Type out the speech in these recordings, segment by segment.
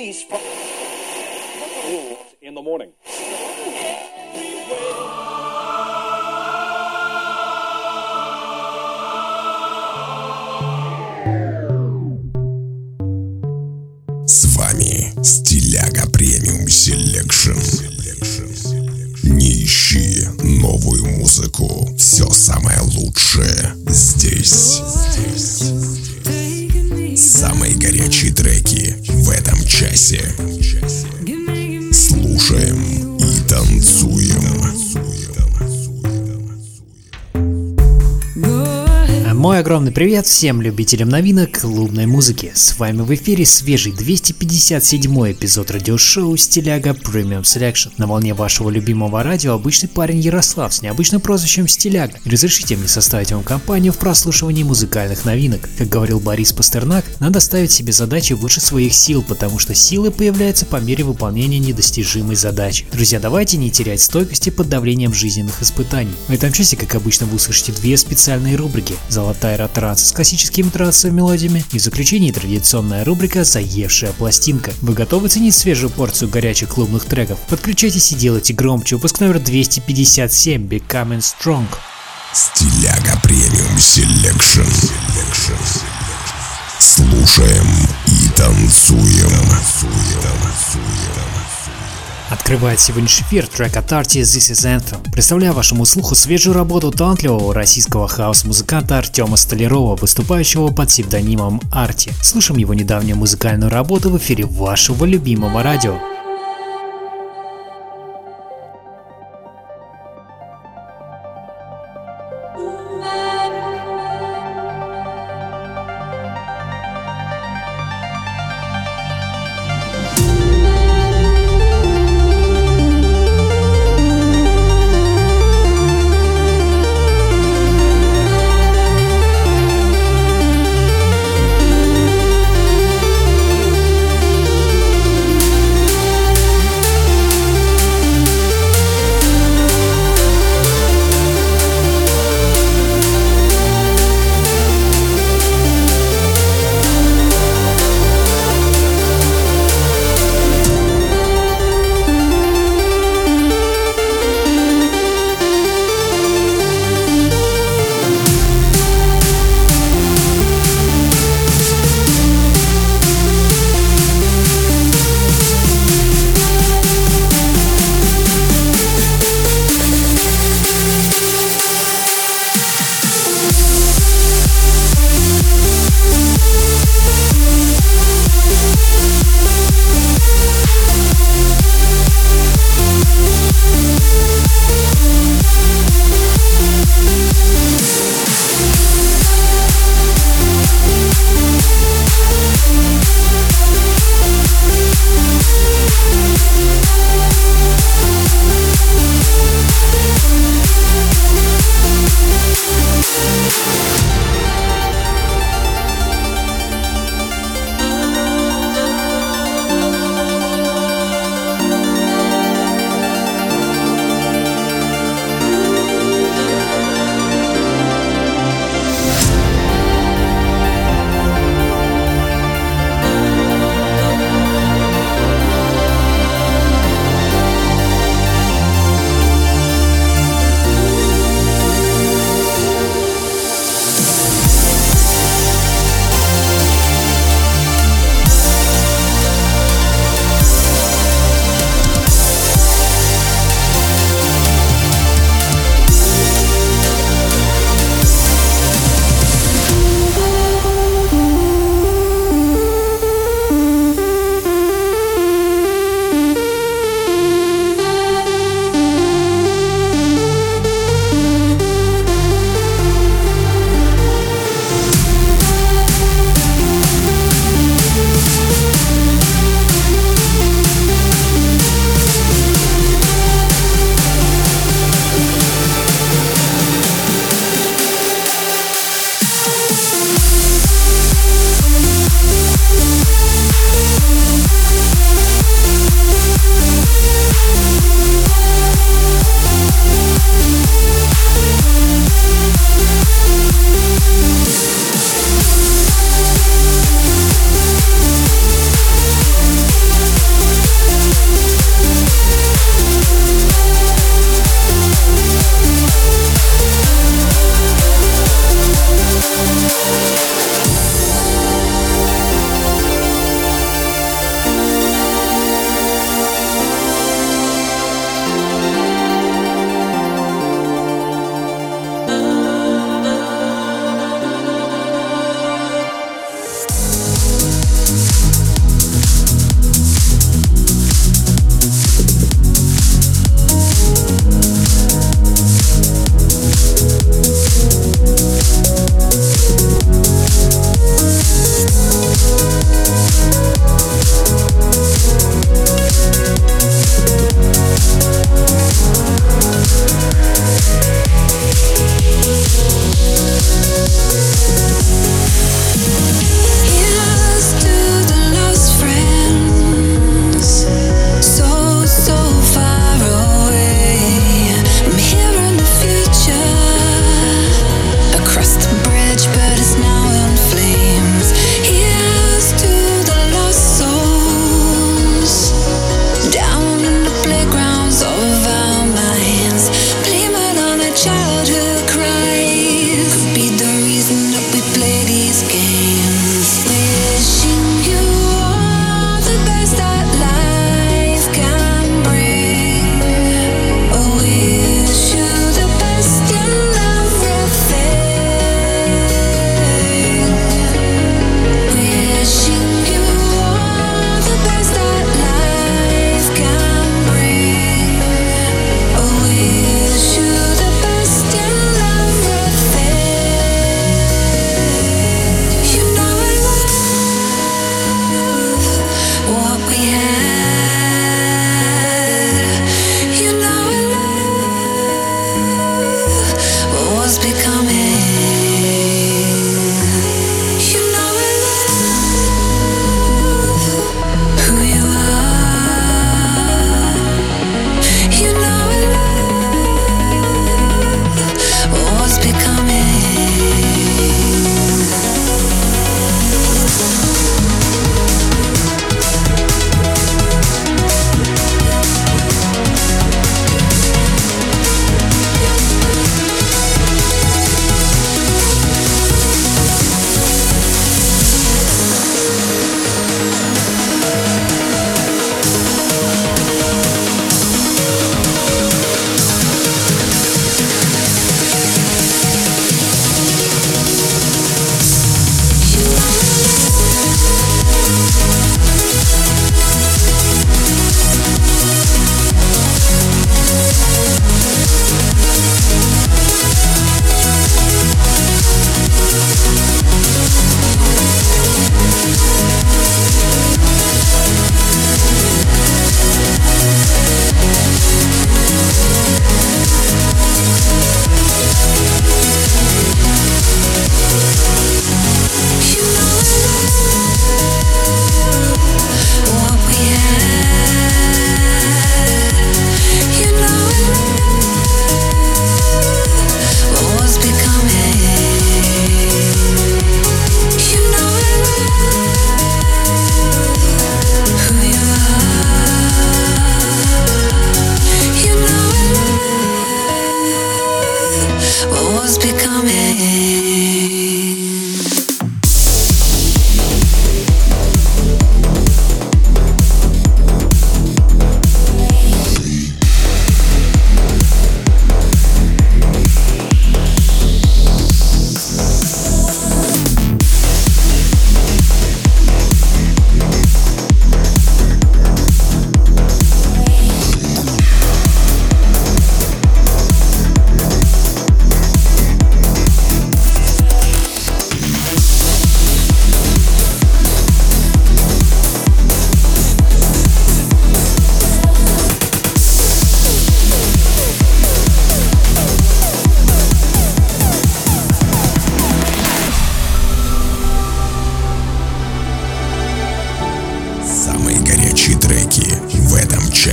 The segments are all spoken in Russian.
release from in the morning. С вами Стиляга Премиум Селекшн. Не ищи новую музыку. Все самое лучшее здесь. Самые горячие треки в этом часе. Слушаем и танцуем. Мой огромный привет всем любителям новинок клубной музыки. С вами в эфире свежий 257-й эпизод радиошоу Стиляга Premium Selection. На волне вашего любимого радио обычный парень Ярослав с необычным прозвищем Стиляга. Разрешите мне составить вам компанию в прослушивании музыкальных новинок. Как говорил Борис Пастернак, надо ставить себе задачи выше своих сил, потому что силы появляются по мере выполнения недостижимой задачи. Друзья, давайте не терять стойкости под давлением жизненных испытаний. В этом часе, как обычно, вы услышите две специальные рубрики: «Золотая эра-транс» с классическими трансовыми мелодиями, и в заключении традиционная рубрика «Заевшая пластинка». Вы готовы ценить свежую порцию горячих клубных треков? Подключайтесь и делайте громче. Выпуск номер 257, Becoming Strong. Стиляга Премиум Селекшн. Слушаем и танцуем. Открывает сегодняшний эфир трек от Arty This Is Anthem. Представляю вашему слуху свежую работу талантливого российского хаус-музыканта Артема Столярова, выступающего под псевдонимом Arty. Слушаем его недавнюю музыкальную работу в эфире вашего любимого радио.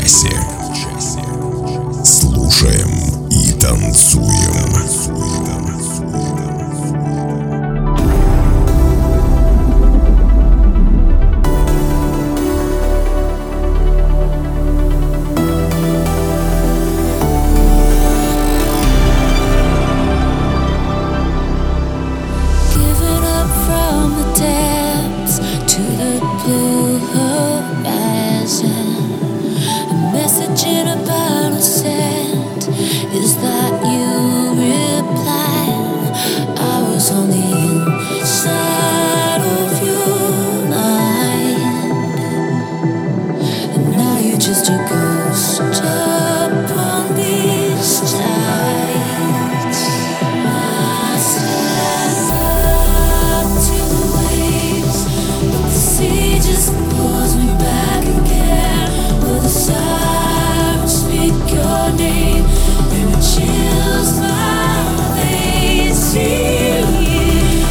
часе. Слушаем и танцуем. Chills my face, feel you.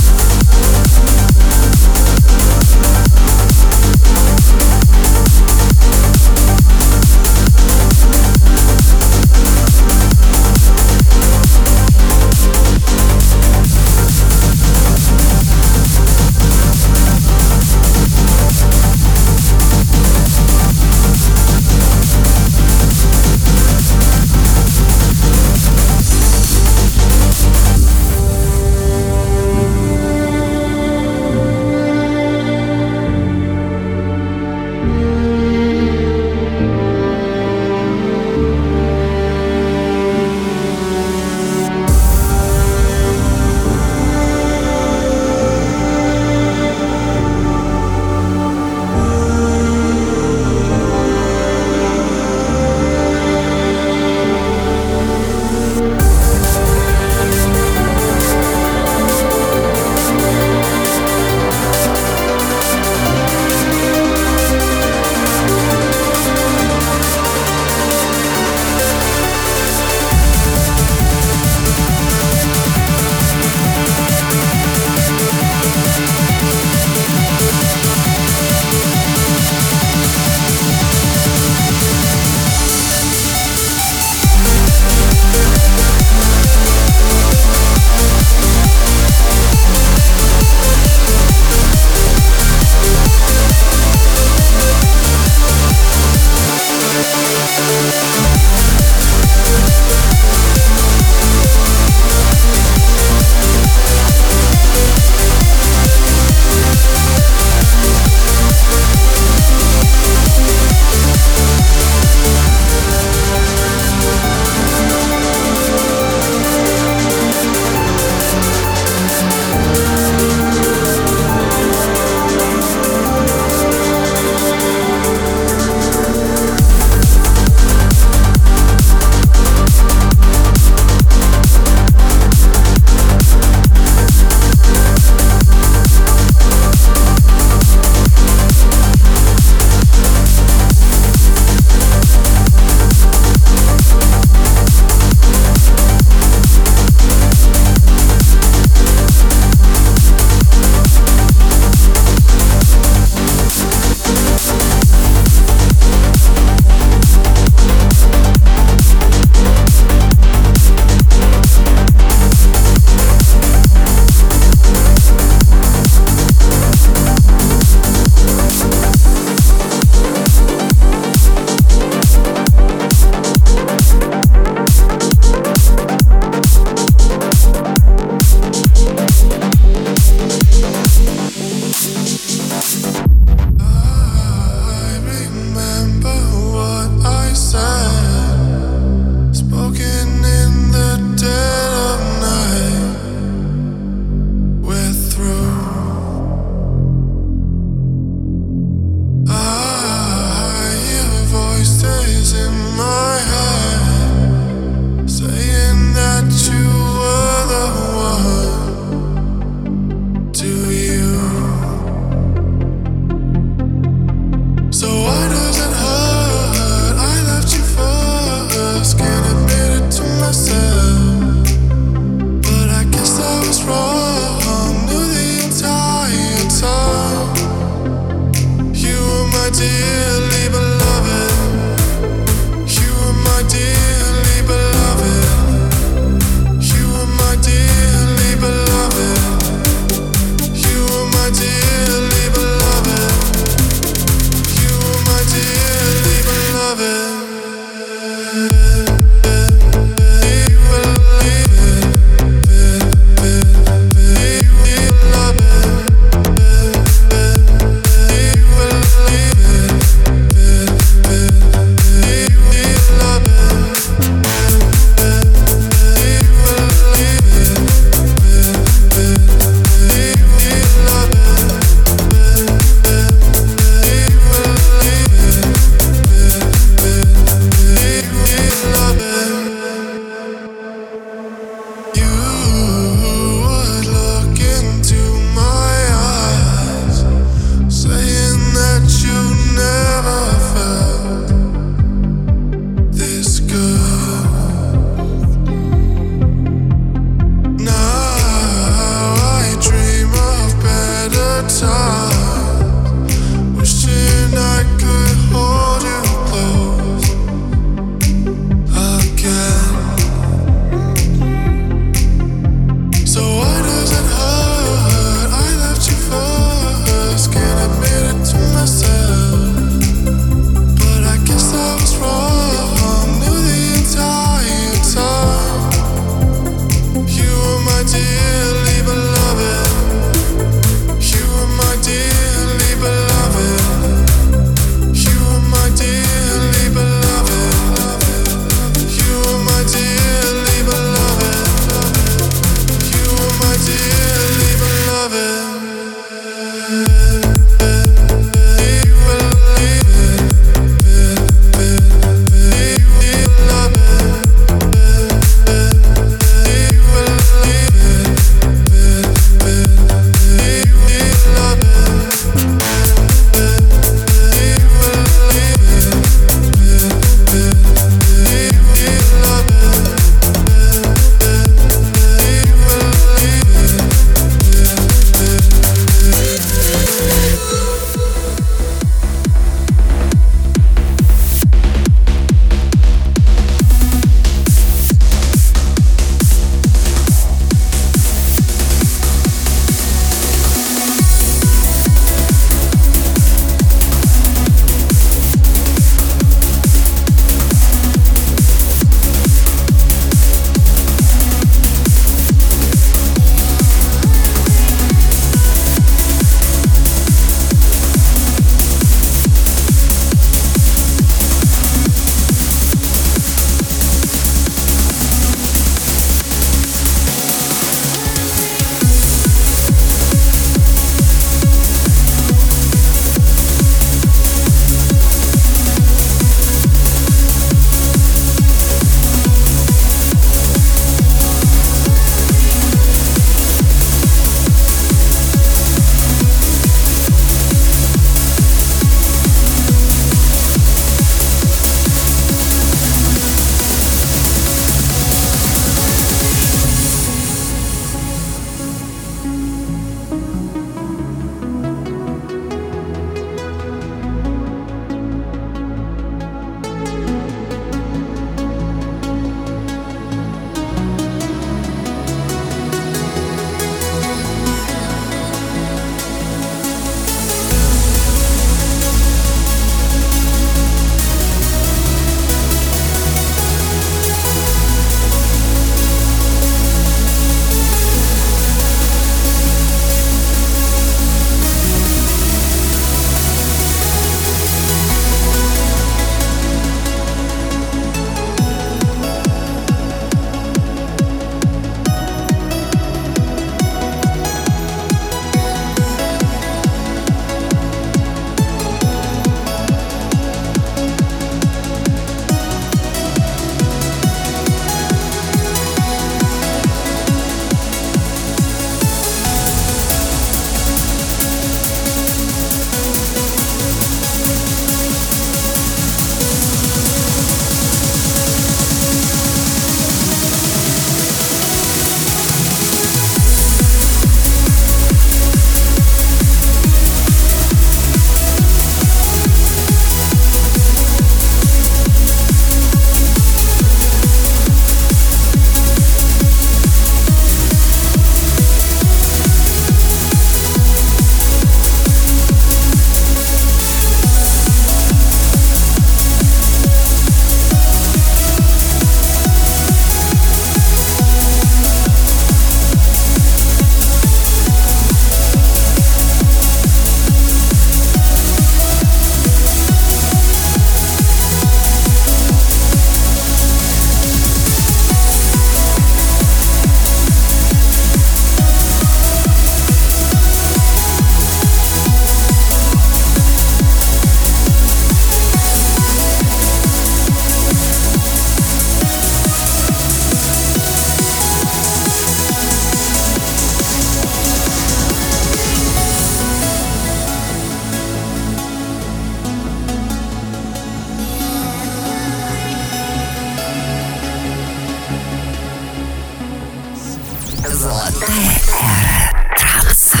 Золотая эра транса.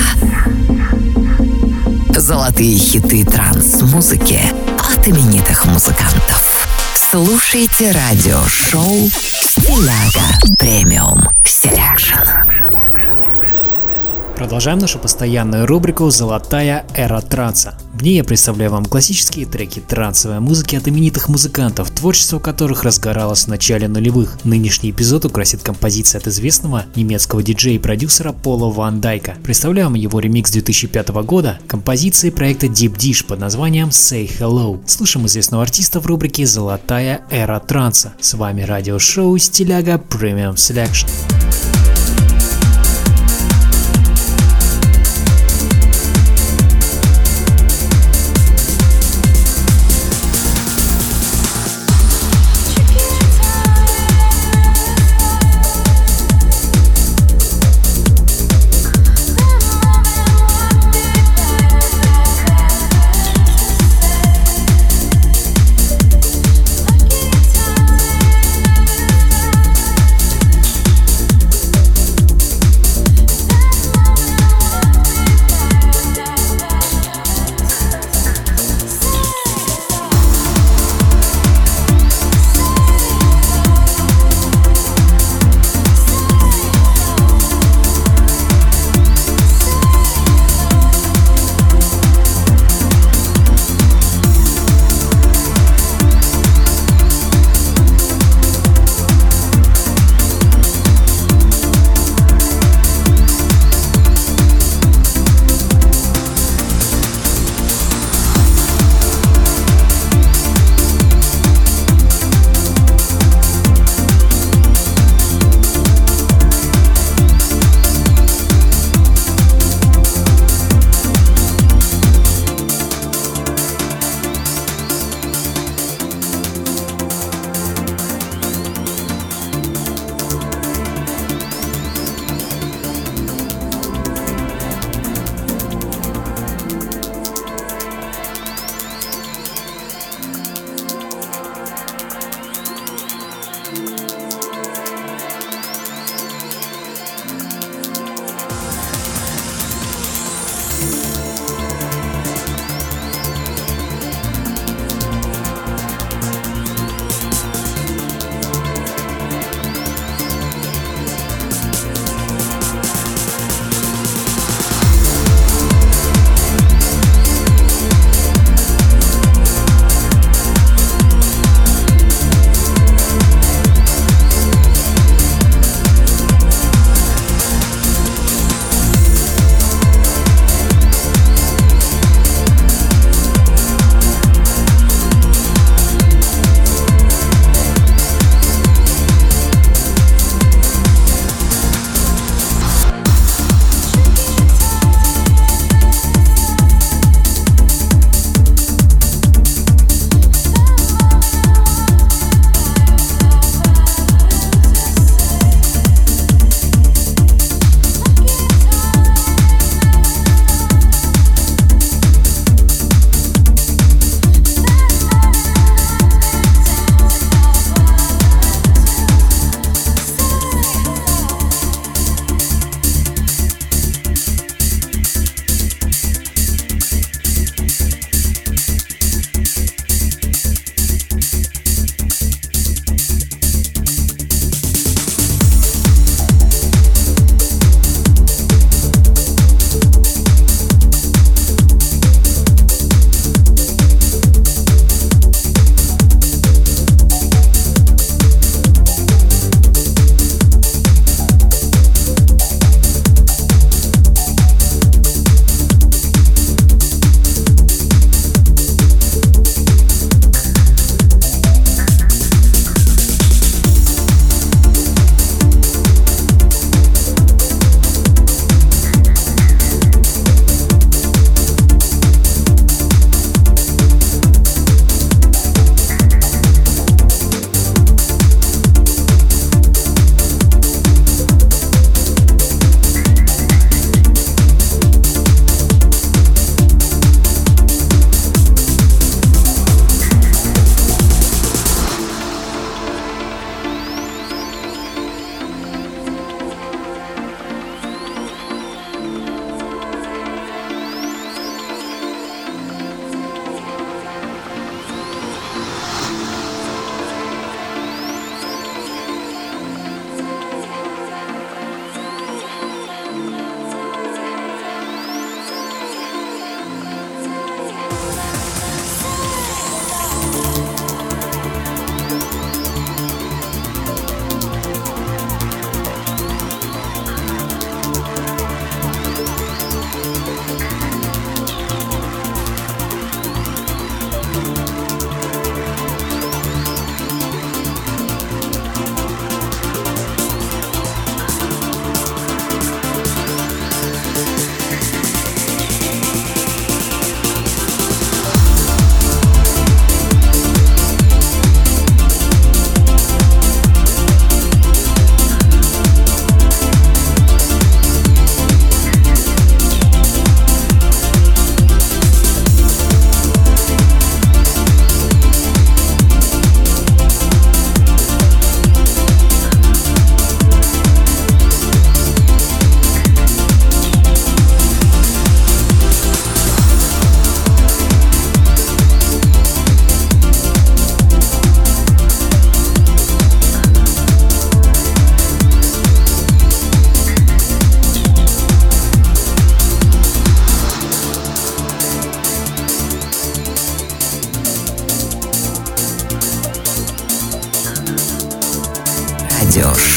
Золотые хиты транс-музыки от именитых музыкантов. Слушайте радиошоу «Стиляга Премиум Селекшн». Продолжаем нашу постоянную рубрику «Золотая эра транса». В ней я представляю вам классические треки трансовой музыки от именитых музыкантов, творчество которых разгоралось в начале нулевых. Нынешний эпизод украсит композиция от известного немецкого диджея и продюсера Пола Ван Дайка. Представляем его ремикс 2005 года композиции проекта Deep Dish под названием Say Hello. Слушаем известного артиста в рубрике «Золотая эра транса». С вами радиошоу «Стиляга Pремиум Селекшн».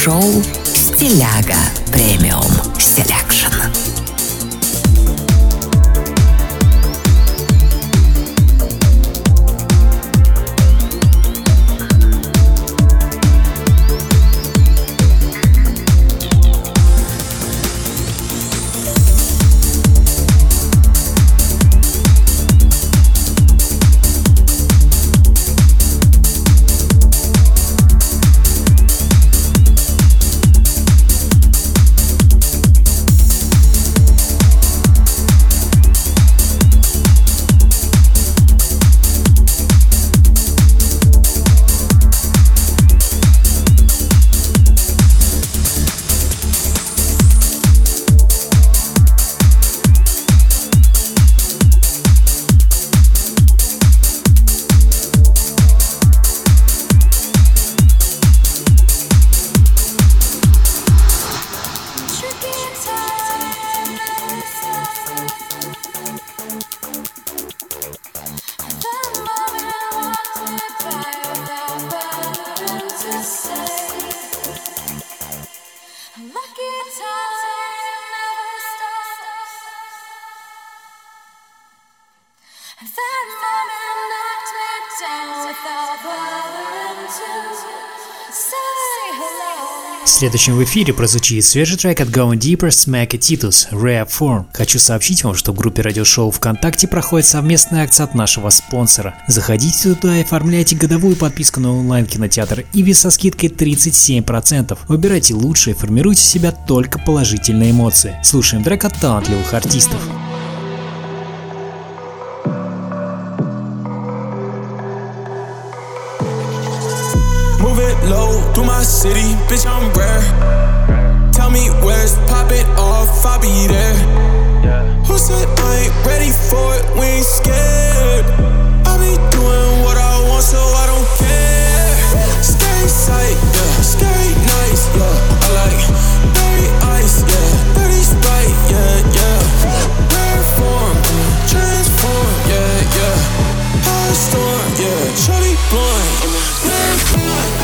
радиошоу «Стиляга Премиум Селекшн». Следующим в эфире прозвучит свежий трек от Going Deeper Smack и Titus Rare Form. Хочу сообщить вам, что в группе радиошоу ВКонтакте проходит совместная акция от нашего спонсора. Заходите туда и оформляйте годовую подписку на онлайн-кинотеатр Иви со скидкой 37%. Выбирайте лучшее, формируйте в себя только положительные эмоции. Слушаем трек от талантливых артистов. Low through my city, bitch, I'm rare. Tell me where's pop it off, I'll be there. Who said I ain't ready for it? We ain't scared. I be doing what I want, so I don't care. Scary sight, yeah, scary nights, yeah. I like berry ice, yeah, dirty Sprite, yeah, yeah. Rare form, transform, yeah, yeah. High storm, yeah, shorty blind, rare form.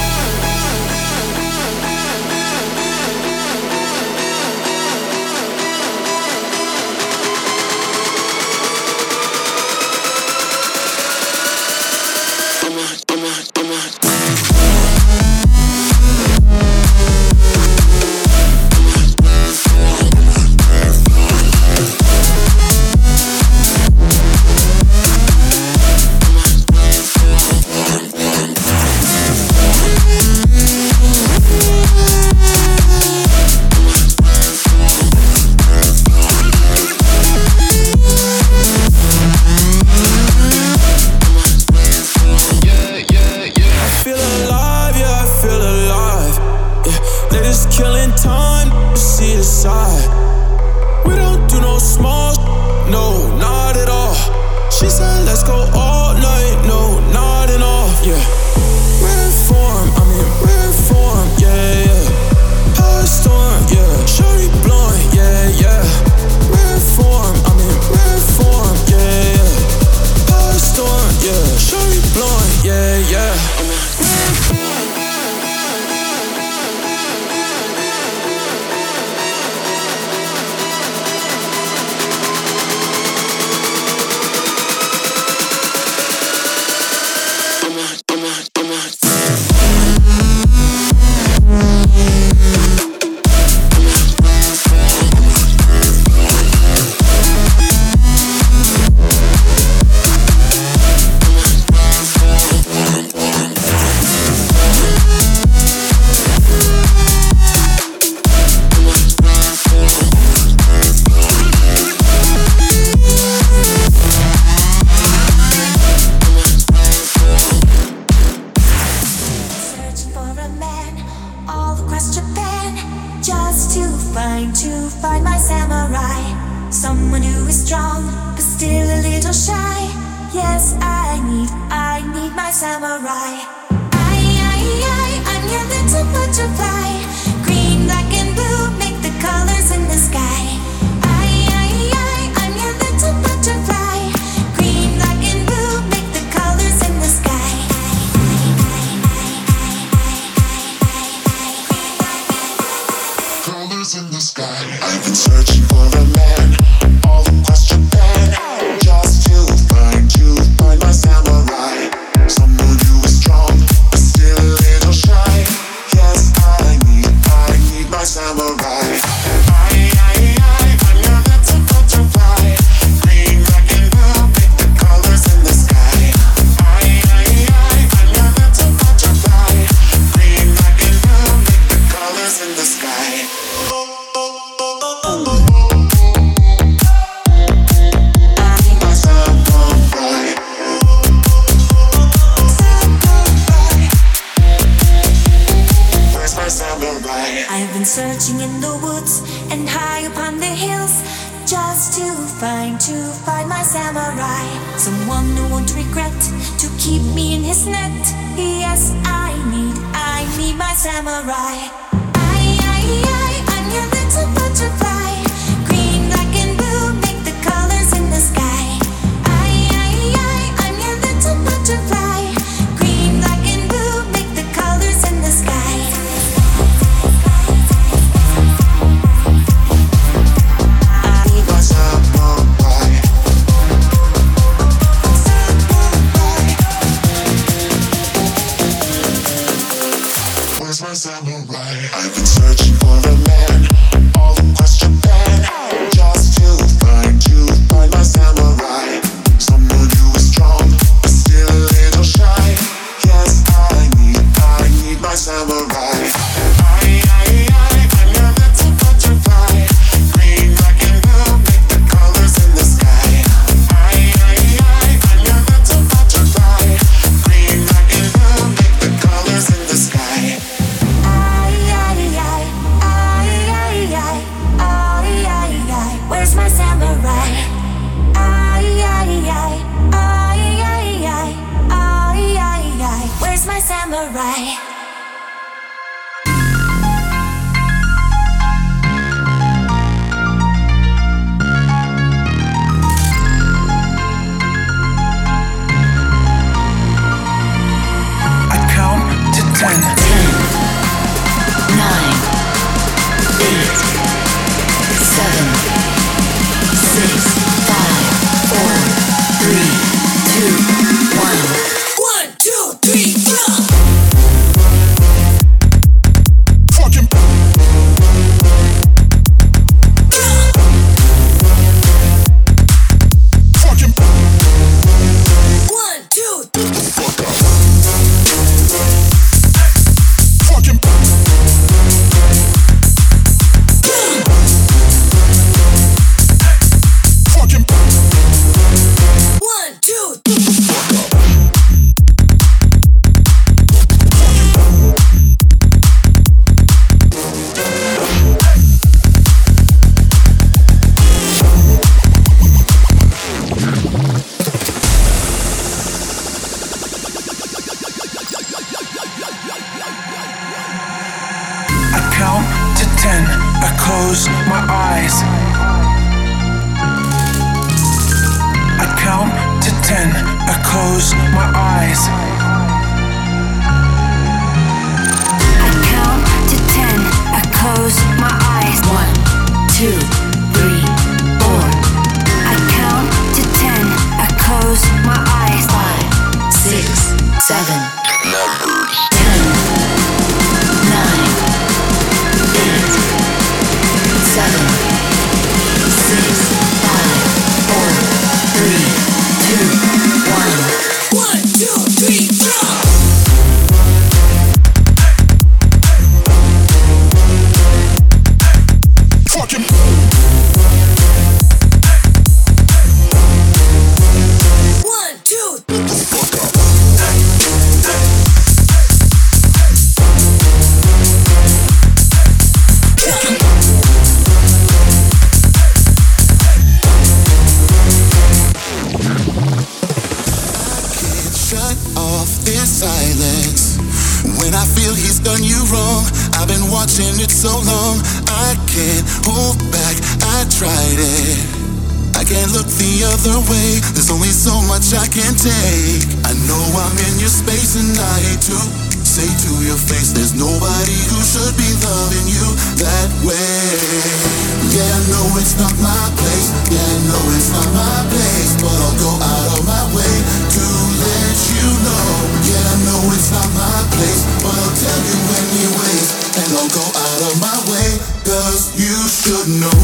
say to your face, there's nobody who should be loving you that way. Yeah, I know it's not my place. Yeah, I know it's not my place, but I'll go out of my way to let you know. Yeah, I know it's not my place, but I'll tell you anyways, and I'll go out of my way, 'cause you should know.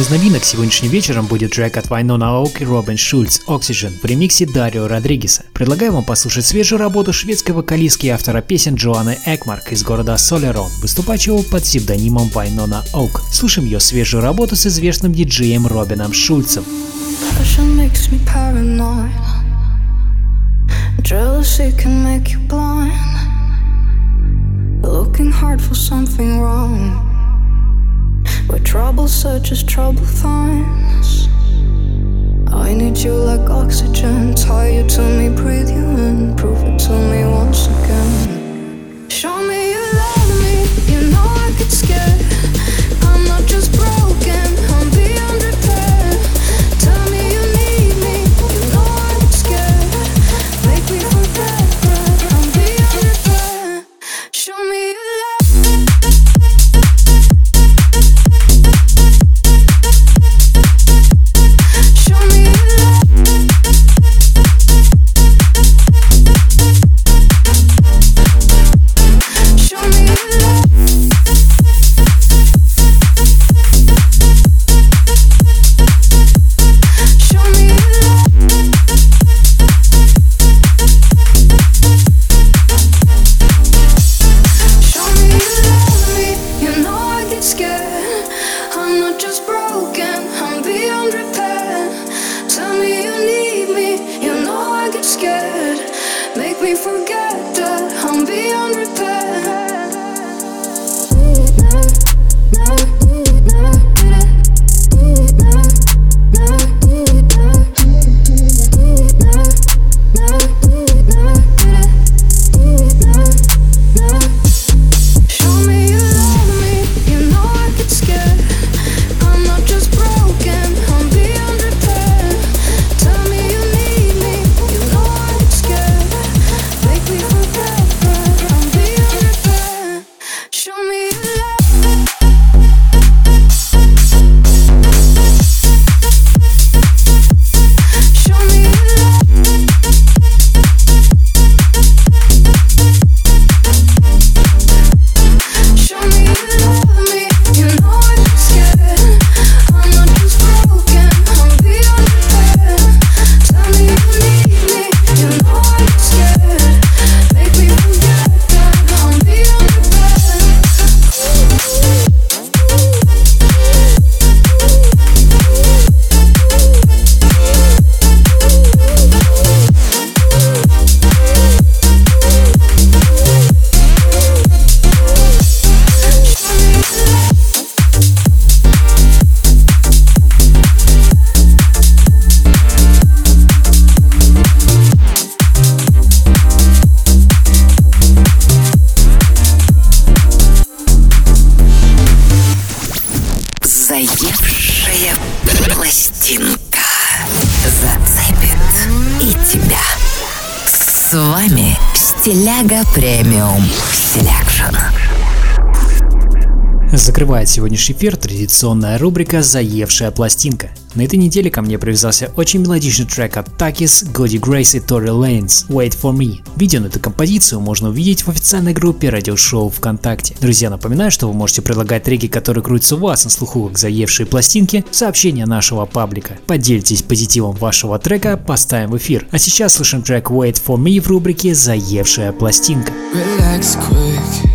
из новинок сегодняшним вечером будет трек от Вайнона Оук и Робин Шульц «Oxygen» в ремиксе Дарио Родригеса. Предлагаю вам послушать свежую работу шведской вокалистки и автора песен Джоанны Экмарк из города Солерон, выступающего под псевдонимом Вайнона Оук. Слушаем ее свежую работу с известным диджеем Робином Шульцем. Jealousy can make you blind, looking hard for something wrong, where trouble searches, trouble finds. I need you like oxygen, tie you to me, breathe you in, prove it to me once again. Show me you love me, you know I get scared. I'm not just broken, I'm beyond repair. Tell me you need me, you know I get scared. Make me forget that I'm beyond repair. Show me you Стиляга Премиум Селекшн. Закрывает сегодняшний эфир традиционная рубрика «Заевшая пластинка». На этой неделе ко мне привязался очень мелодичный трек от Takis, Goody Grace и Tory Lanez «Wait for Me». Видео на эту композицию можно увидеть в официальной группе радиошоу ВКонтакте. Друзья, напоминаю, что вы можете предлагать треки, которые крутятся у вас на слуху как заевшие пластинки, в сообщения нашего паблика. Поделитесь позитивом вашего трека, поставим в эфир. А сейчас слушаем трек «Wait for Me» в рубрике «Заевшая пластинка». Relax quick.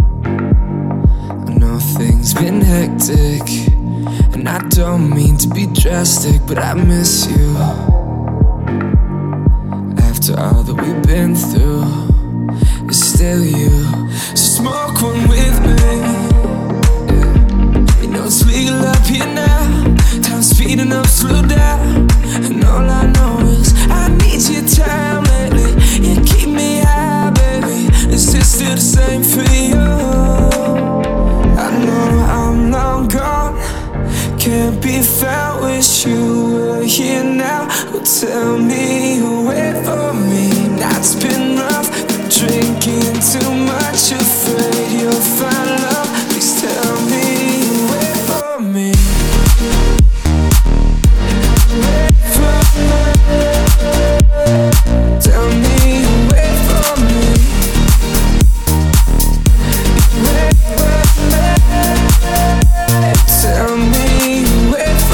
Things been hectic, and I don't mean to be drastic, but I miss you. After all that we've been through, it's still you. So smoke one with me. Yeah. You know it's legal up here now. Time speeding up, slow down. And all I know is I need your time lately. You keep me high, baby. Is this still the same for you? I know I'm long gone, can't be found. Wish you were here now. Well, tell me you wait for me. Night's been rough, been drinking too much, afraid you'll find love. Please tell me you wait for me. Wait for me. Tell me you wait for me. Wait for me. Tell me you wait for me.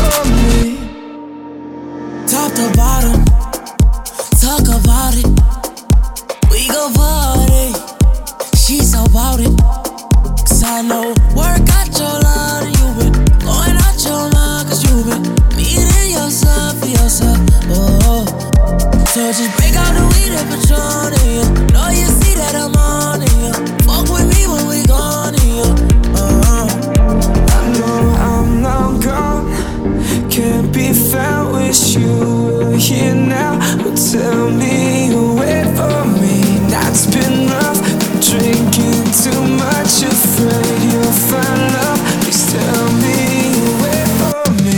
the bottom. Talk about it. We go party. She's so about it. 'Cause I know work got your lot and you been going out your mind. 'Cause you been needing yourself for yourself. Oh, so just break out the weed and Patron in you. Know you see that I'm on in you. Fuck with me when we gone in you. I know I'm long gone. Can't be found with you here now. But tell me you wait for me. That's been rough. Drinking too much, afraid you'll find love. Please tell me you wait for me.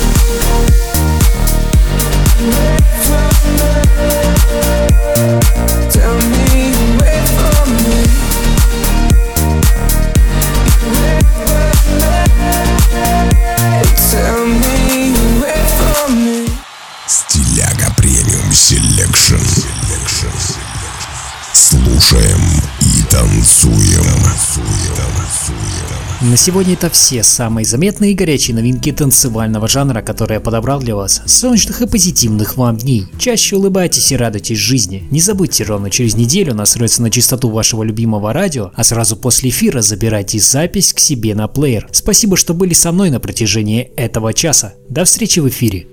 Wait for me. Tell me you wait for me. Wait for me. Tell me you wait for me. Стиляга премиум селекшн. Слушаем и танцуем. На сегодня это все самые заметные и горячие новинки танцевального жанра, которые я подобрал для вас. Солнечных и позитивных вам дней. Чаще улыбайтесь и радуйтесь жизни. Не забудьте, ровно через неделю настроиться на частоту вашего любимого радио, а сразу после эфира забирайте запись к себе на плеер. Спасибо, что были со мной на протяжении этого часа. До встречи в эфире.